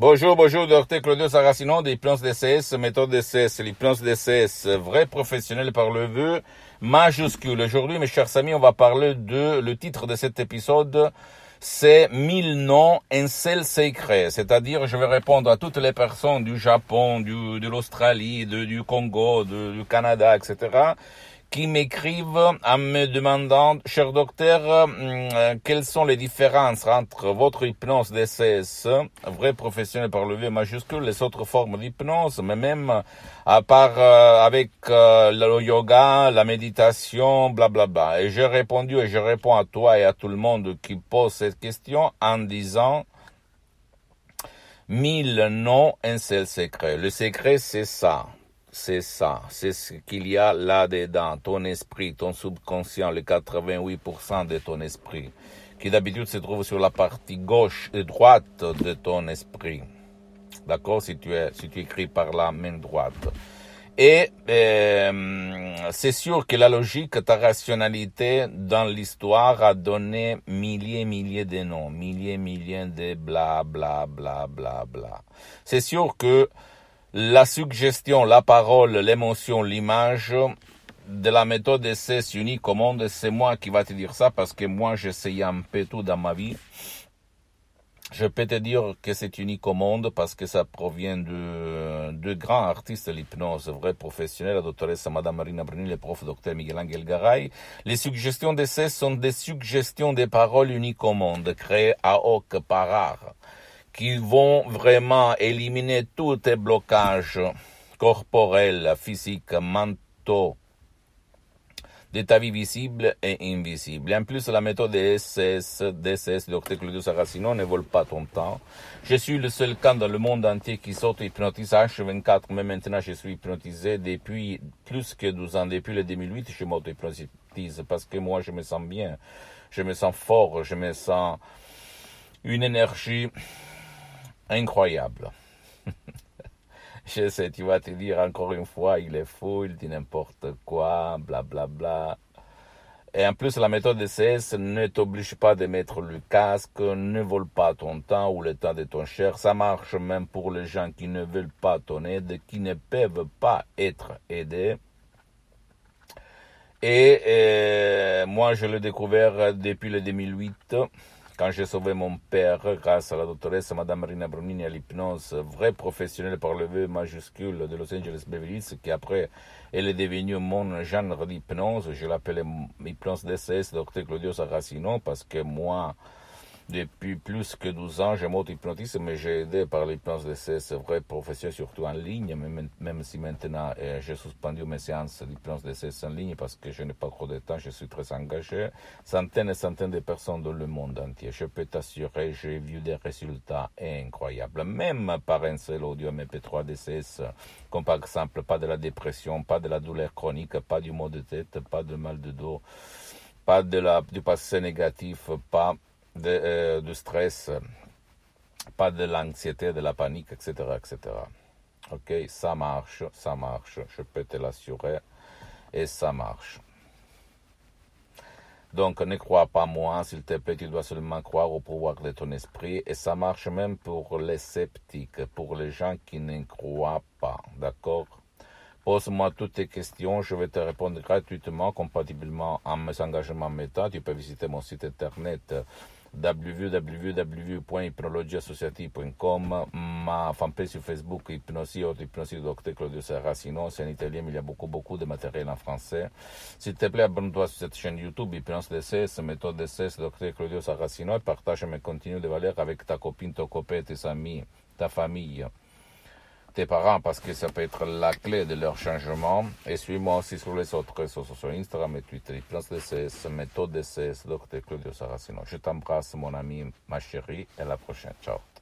Bonjour, docteur Claudio Saracino d'Hypnose DCS, méthode DCS, l'hypnose DCS, vrai professionnel par le vœu majuscule. Aujourd'hui, mes chers amis, on va parler le titre de cet épisode, c'est 1000 noms, un seul secret. C'est-à-dire, je vais répondre à toutes les personnes du Japon, de l'Australie, du Congo, du Canada, etc., qui m'écrivent en me demandant, cher docteur, quelles sont les différences entre votre hypnose DCS, vrai professionnel par le V majuscule, les autres formes d'hypnose, mais même à part avec le yoga, la méditation, blablabla. Et j'ai répondu et je réponds à toi et à tout le monde qui pose cette question en disant 1000 noms, un seul secret. Le secret, c'est ça. C'est ce qu'il y a là-dedans, ton esprit, ton subconscient, le 88% de ton esprit, qui d'habitude se trouve sur la partie gauche et droite de ton esprit. D'accord, si tu écris par la main droite. Et c'est sûr que la logique, ta rationalité dans l'histoire a donné milliers de noms, milliers de bla bla bla bla bla. C'est sûr que la suggestion, la parole, l'émotion, l'image de la méthode DCS unique au monde, c'est moi qui va te dire ça parce que moi j'essaye un peu tout dans ma vie. Je peux te dire que c'est unique au monde parce que ça provient de grands artistes de l'hypnose, vrais professionnels, la doctoresse Madame Marina Bruni, le prof Dr Miguel Angel Garay. Les suggestions DCS sont des suggestions des paroles uniques au monde, créées à hoc par art, qui vont vraiment éliminer tous tes blocages corporels, physiques, mentaux, de ta vie visible et invisible. Et en plus, la méthode DCS, Dr Claudio Saracino, ne vole pas ton temps. Je suis le seul cas dans le monde entier qui s'auto-hypnotise H24, mais maintenant je suis hypnotisé depuis plus que 12 ans. Depuis le 2008, je m'auto-hypnotise parce que moi, je me sens bien, je me sens fort, je me sens une énergie incroyable. Je sais, tu vas te dire encore une fois, il est fou, il dit n'importe quoi, blablabla. Bla bla. Et en plus, la méthode DCS ne t'oblige pas de mettre le casque, ne vole pas ton temps ou le temps de ton cher. Ça marche même pour les gens qui ne veulent pas ton aide, qui ne peuvent pas être aidés. Et moi, je l'ai découvert depuis le 2008. Quand j'ai sauvé mon père grâce à la doctoresse Madame Marina Brunini à l'hypnose, vrai professionnel par le V majuscule de Los Angeles Beverly Hills, qui après elle est devenue mon genre d'hypnose. Je l'appelle hypnose DCS Dr Claudio Saracino parce que moi, depuis plus que 12 ans, je m'auto-hypnotise, mais j'ai aidé par l'hypnose DCS, vrai professionnel, surtout en ligne, même si maintenant j'ai suspendu mes séances d'hypnose DCS en ligne parce que je n'ai pas trop de temps, je suis très engagé. Centaines et centaines de personnes dans le monde entier. Je peux t'assurer, j'ai vu des résultats incroyables, même par un seul audio MP3 DCS, comme par exemple pas de la dépression, pas de la douleur chronique, pas du maux de tête, pas de mal de dos, pas du passé négatif, pas de stress, pas de l'anxiété, de la panique, etc., etc. Ok, ça marche, je peux te l'assurer, et ça marche. Donc, ne crois pas moi, s'il te plaît, tu dois seulement croire au pouvoir de ton esprit, et ça marche même pour les sceptiques, pour les gens qui ne croient pas, d'accord? Pose-moi toutes tes questions, je vais te répondre gratuitement, compatiblement à mes engagements méta. Tu peux visiter mon site internet www.hypnologieassociative.com, ma fanpage sur Facebook, Hypnosie Dr Claudio Saracino, c'est en italien, mais il y a beaucoup de matériel en français. S'il te plaît, abonne-toi sur cette chaîne YouTube, Hypnose DCS, méthode DCS, Dr Claudio Saracino, et partage mes contenus de valeur avec ta copine, ton copain, tes amis, ta famille, tes parents, parce que ça peut être la clé de leur changement. Et suis-moi aussi sur les autres réseaux sociaux, Instagram et Twitter, Hypnose DCS, méthode DCS, Dr Claudio Saracino. Je t'embrasse, mon ami, ma chérie, et à la prochaine. Ciao.